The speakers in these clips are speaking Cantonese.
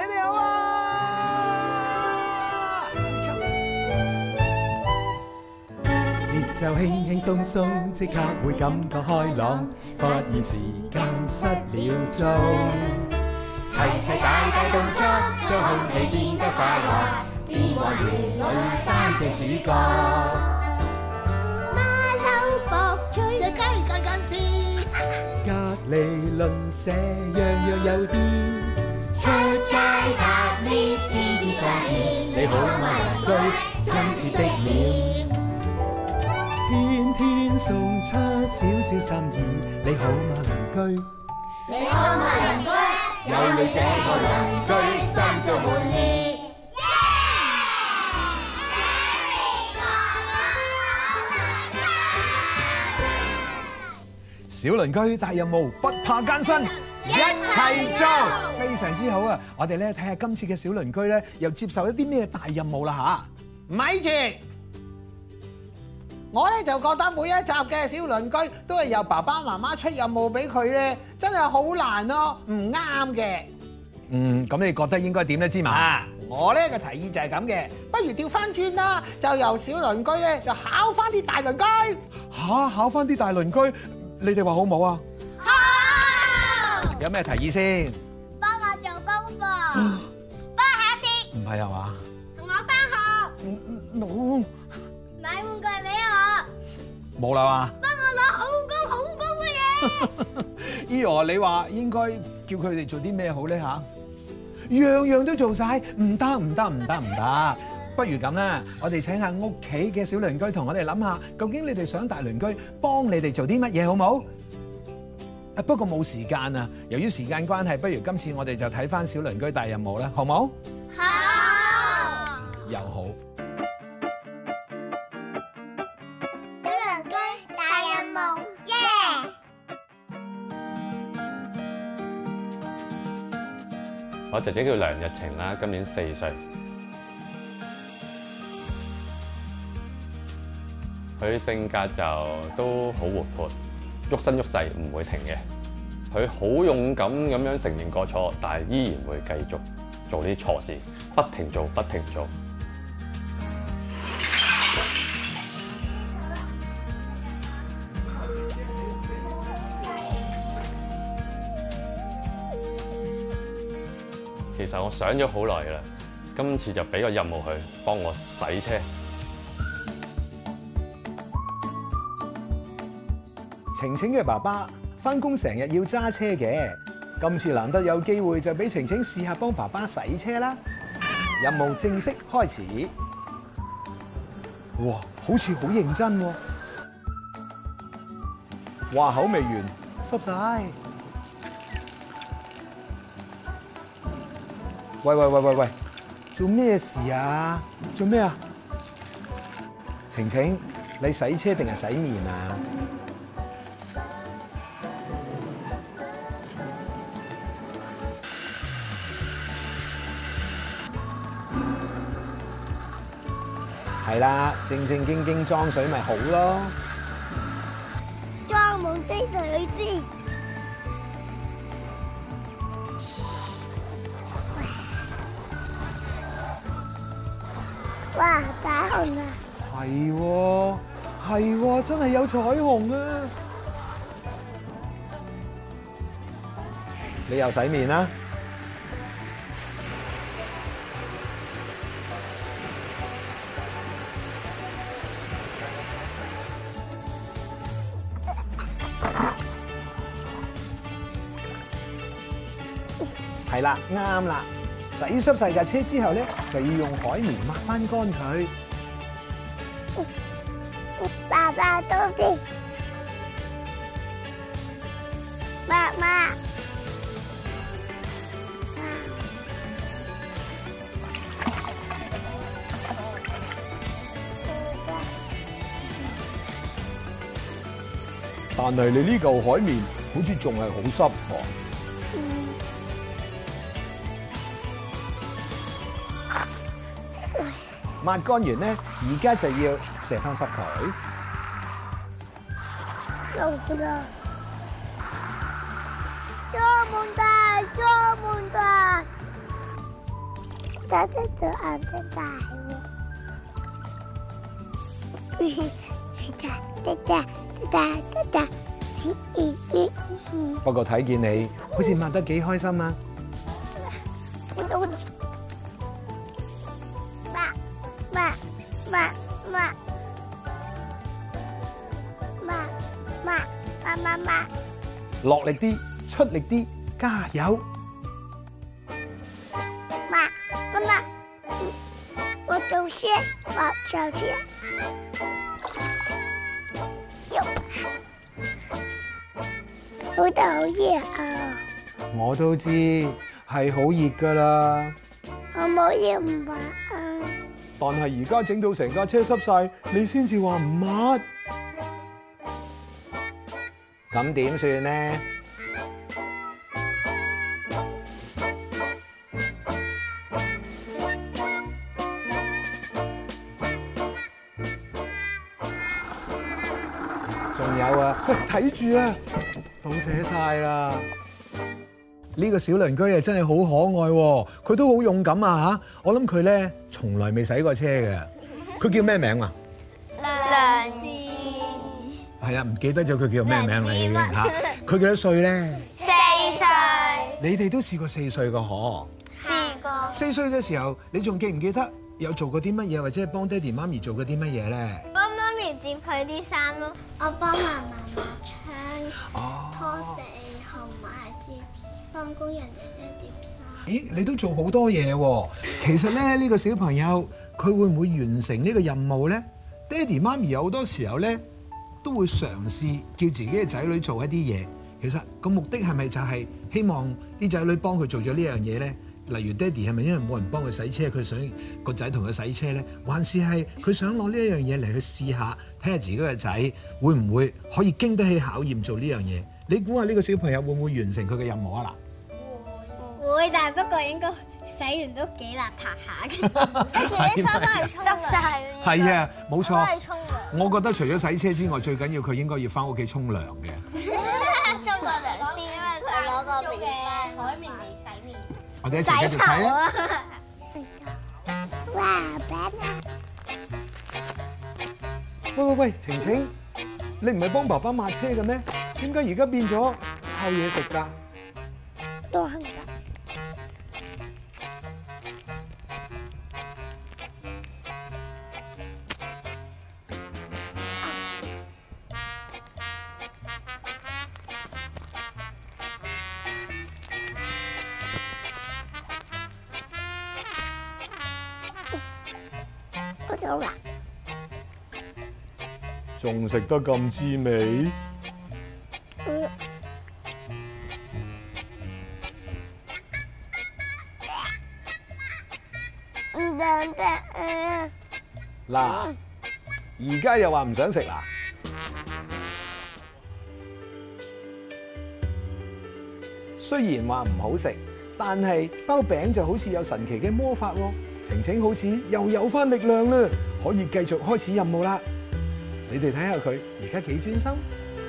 你哋好啊！節奏輕輕鬆鬆，即刻會感覺開朗，發現時間失了蹤。齊齊大大動作，將空氣變得快樂，變幻園裏擔正主角。 馬騮博取隻雞近近視， 隔離鄰舍樣樣有啲。 出街拍呢天天相見， 你好嗎鄰居，親切的臉，天天送出少少心意。你好嗎鄰居， 你好嗎鄰居， 有你這個鄰居，心中滿意。小鄰居大任務，不怕艱辛，一齊做，非常之好啊！我哋咧睇下今次嘅小鄰居咧，又接受一啲咩大任務啦吓？ 咪住！我咧就覺得每一集嘅小鄰居都係由爸爸媽媽出任務俾佢咧，真係好難咯，唔啱嘅。 咁你覺得應該點咧？芝麻， 我咧嘅提議就係咁嘅，不如調翻轉啦，就由小鄰居咧就考翻啲大鄰居。 考翻啲大鄰居，你哋話好唔好啊？ 好！ 有咩提議先？ 幫我做功課，幫我考試， 唔係啊嘛？ 同我返學， 冇買玩具俾我， 冇啦嘛？ 幫我攞好高嘅嘢。 Eo，你話應該叫佢哋做啲咩好咧吓？樣樣都做晒，唔得。不如咁啦，我哋請下屋企嘅小鄰居同我哋諗下，究竟你哋想大鄰居幫你哋做啲乜嘢好冇？不過冇時間啊，由於時間關係，不如今次我哋就睇翻小鄰居大任務啦，好冇？ 好。 又好。 小鄰居大任務，耶！ 我姐姐叫梁日晴啦，今年4歲。佢性格就都好活潑，喐身喐勢唔會停嘅。佢好勇敢咁樣承認過錯，但係依然會繼續做啲錯事，不停做。其實我想咗好耐㗎啦，今次就俾個任務佢幫我洗車。 晴晴嘅爸爸返工成日要揸車嘅，今次難得有機會就俾晴晴試下幫爸爸洗車啦。任務正式開始。哇，好似好認真喎！話口未完，濕晒。喂，做咩事啊？做咩啊？晴晴，你洗車定係洗面啊？係啦，正經裝水咪好咯。 裝滿啲水先。哇！彩虹啊！ 係喎，真係有彩虹啊！你又洗面啦？係啦，啱啦。洗濕晒架車之後咧，就要用海綿抹翻乾佢。 爸爸多啲，媽媽。 但係你呢嚿海綿好似仲係好濕喎。抹乾完咧，而家就要射翻濕佢。 做啦！裝滿大！ 得隻眼睛大喎。 不過睇見你好似抹得幾開心啊！落力啲，出力啲，加油！ 媽，我做先，我做先。好得好熱啊！ 我都知係好熱㗎啦， 我冇要唔抹啊！ 但係而家整到成架車濕晒，你先至話唔抹，咁點算呢？仲有啊，睇住啊，倒瀉晒啦！呢個小鄰居啊，真係好可愛喎，佢都好勇敢啊嚇！我諗佢咧從來未洗過車嘅，佢叫咩名啊？ 梁志係啊，唔記得咗佢叫咩名啦已經嚇。佢幾多歲咧 ？4歲， 你哋都試過4歲個嗬？ 試過。 4歲嘅時候，你仲記唔記得有做過啲乜嘢，或者係幫爹哋媽咪做過啲乜嘢咧？ 幫媽咪摺佢啲衫咯，我幫媽媽抹窗、拖地同埋幫工人姐姐摺衫。 咦，你都做好多嘢喎！其實咧，呢個小朋友佢會唔會完成呢個任務咧？爹哋媽咪有好多時候咧都會嘗試叫自己嘅仔女做一啲嘢。其實個目的係咪就係希望啲仔女幫佢做咗呢樣嘢咧？例如爹哋係咪因為冇人幫佢洗車，佢想個仔同佢洗車咧？還是係佢想攞呢一樣嘢嚟去試下，睇下自己嘅仔會唔會可以經得起考驗做呢樣嘢？你估下呢個小朋友會唔會完成佢嘅任務啊？嗱， 會，但係不過應該洗完都幾邋遢下嘅，跟住啲衫翻去沖濕晒。 係啊，冇錯。 翻去沖涼。 我覺得除咗洗車之外，最緊要佢應該要翻屋企沖涼嘅。 沖個涼先，因為佢攞個面海綿嚟洗面。 我哋一齊繼續睇啊！ 哇！爸喂，晴晴，你唔係幫爸爸抹車嘅咩？點解而家變咗抄嘢食㗎？ 都係㗎。我走啦。 仲食得咁滋味？ 唔得得嗱，而家又話唔想食啦？雖然話唔好食，但係包餅就好似有神奇嘅魔法喎。晴晴好似又有返力量啦，可以繼續開始任務啦。你哋睇下佢而家幾專心。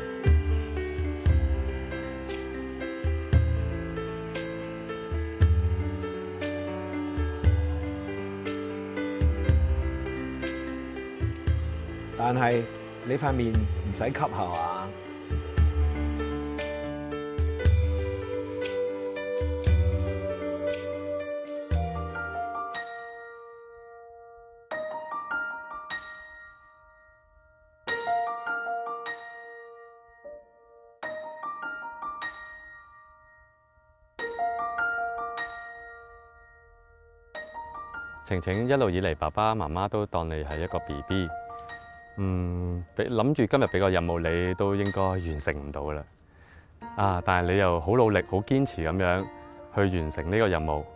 但係你塊面唔使吸係嘛？ 晴晴一路以嚟，爸爸媽媽都當你係一個 BB。諗住今日俾個任務你都應該完成唔到啦。但係你又好努力、好堅持咁樣去完成呢個任務。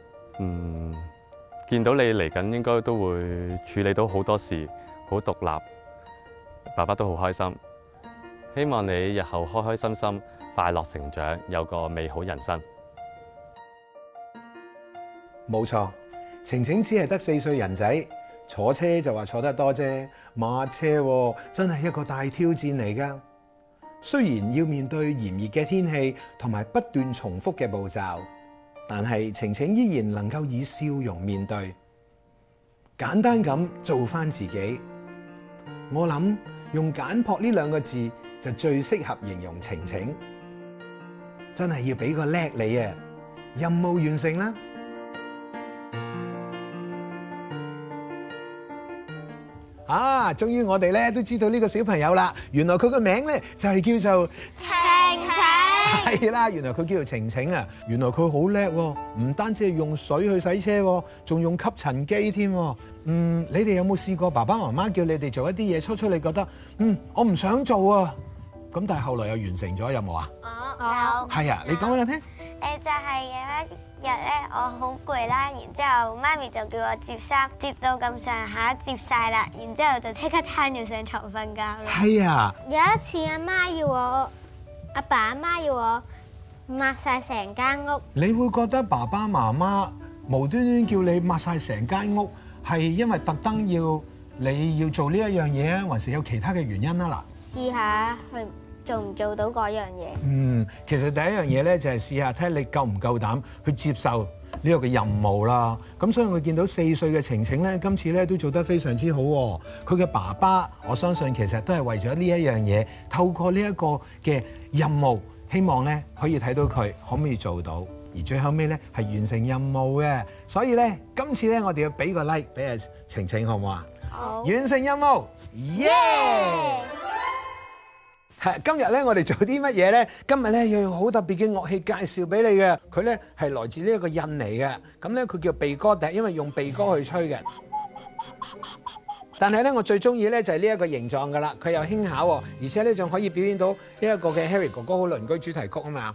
見到你嚟緊應該都會處理到好多事，好獨立。爸爸都好開心，希望你日後開開心心、快樂成長，有個美好人生。 冇錯，晴晴只係得4歲人仔，坐車就話坐得多啫，抹車真係一個大挑戰嚟㗎。雖然要面對炎熱嘅天氣同埋不斷重複嘅步驟， 但係晴晴依然能夠以笑容面對，簡單咁做返自己。我諗用簡樸呢兩個字就最適合形容晴晴。真係要俾個叻你啊！任務完成啦！啊，終於我哋咧都知道呢個小朋友啦。原來佢個名咧就係叫做晴晴。 係啦，原來佢叫做晴晴啊！原來佢好叻喎，唔單止係用水去洗車喎，仲用吸塵機添。你哋有冇試過爸爸媽媽叫你哋做一啲嘢，初初你覺得我唔想做啊，咁但係後來又完成咗，有冇啊？ 有。 係啊，你講俾我聽。 就係有一日咧，我好攰啦，然之後媽咪就叫我摺衫，摺到咁上下摺晒啦，然之後就即刻攤住上床瞓覺啦。 係啊。 有一次阿爸阿媽要我抹晒成間屋。 你會覺得爸爸媽媽無端端叫你抹晒成間屋，係因為特登你要做呢一樣嘢啊，還是有其他嘅原因啊？嗱， 試下去做唔做到嗰樣嘢。 其實第一樣嘢咧就係試下睇下你夠唔夠膽去接受呢個嘅任務啦。咁所以我見到4歲嘅晴晴咧，今次咧都做得非常之好喎。佢嘅爸爸，我相信其實都係為咗呢一樣嘢，透過呢一個嘅任務，希望咧可以睇到佢可唔可以做到，而最後尾咧係完成任務嘅。所以咧今次咧我哋要俾個 like 俾阿晴晴，好唔好啊？好。完成任務，耶！今日咧，我哋做啲乜嘢咧？今日咧要用好特別嘅樂器介紹俾你嘅。佢咧係來自呢一個印尼嘅。咁咧佢叫鼻哥笛，因為用鼻哥去吹嘅。但係咧，我最中意咧就係呢一個形狀噶啦。佢又輕巧喎，而且咧仲可以表演到呢一個嘅 Harry 哥哥好鄰居主題曲啊嘛。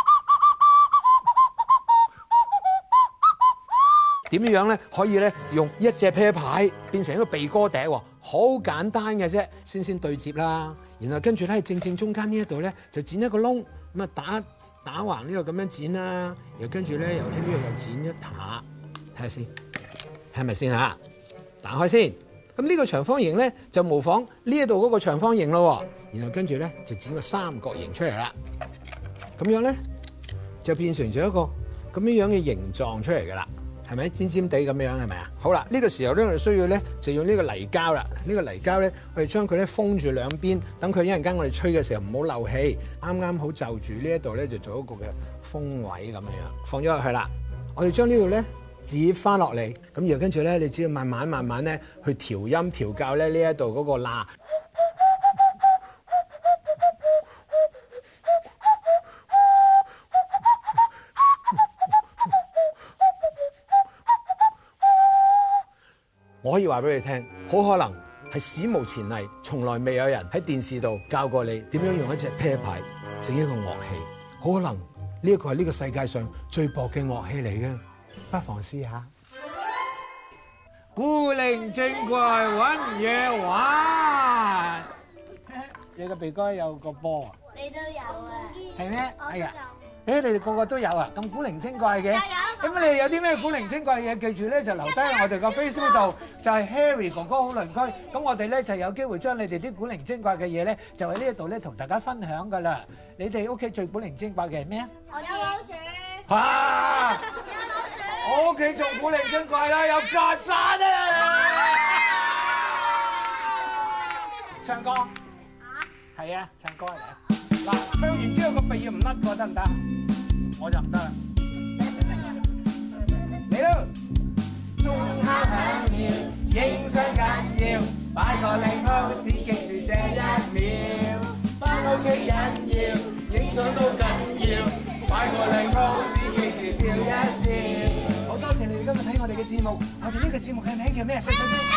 點樣咧可以咧用一隻啤牌變成一個鼻哥笛喎？好簡單嘅啫，先對接啦。然後跟住咧，正中間呢一度咧就剪一個窿，咁啊打橫呢個咁樣剪啦。然後跟住咧由呢度又剪一下，睇下先，係咪先嚇？打開先。咁呢個長方形咧就模仿呢一度嗰個長方形咯。然後跟住咧就剪個三角形出嚟啦。咁樣咧就變成咗一個咁樣嘅形狀出嚟㗎啦。係咪尖尖地咁樣係咪啊？好啦，呢個時候咧，我哋需要咧就用呢個泥膠啦。呢個泥膠咧，我哋將佢咧封住兩邊，等佢一陣間我哋吹嘅時候唔好漏氣。啱啱好就住呢一度咧，就做一個嘅風位咁樣，放咗落去啦。我哋將呢度咧折翻落嚟，咁然後跟住咧，你只要慢慢咧去調音調校咧呢一度嗰個喇。我可以話俾你聽，好可能係史無前例，從來未有人喺電視度教過你點樣用一隻啤牌整一個樂器。好可能呢一個係呢個世界上最薄嘅樂器嚟嘅，不妨試下。古靈精怪揾嘢玩，你個鼻哥有個波啊？ 你都有啊？ 係咩？哎呀！你哋個個都有啊，咁古靈精怪嘅。咁你哋有啲咩古靈精怪嘅嘢，記住咧就留低喺我哋個 Facebook 度，就係 Harry 哥哥好鄰居。咁我哋咧就有機會將你哋啲古靈精怪嘅嘢咧，就喺呢一度咧同大家分享噶啦。你哋屋企最古靈精怪嘅係咩啊？ 有老鼠。 嚇！ 有老鼠。 我屋企仲古靈精怪啦，有曱甴啊！唱歌。係啊，唱歌嚟。嗱，唱完之後個鼻要唔甩過得唔得？我就唔得啦。嚟咯！鐘敲響了，影相緊要，擺個靚 pose 記住這一秒。返屋企緊要，影相都緊要，擺個靚 pose 記住笑一笑。好多謝你哋今日睇我哋嘅節目，我哋呢個節目嘅名叫咩？細細聲。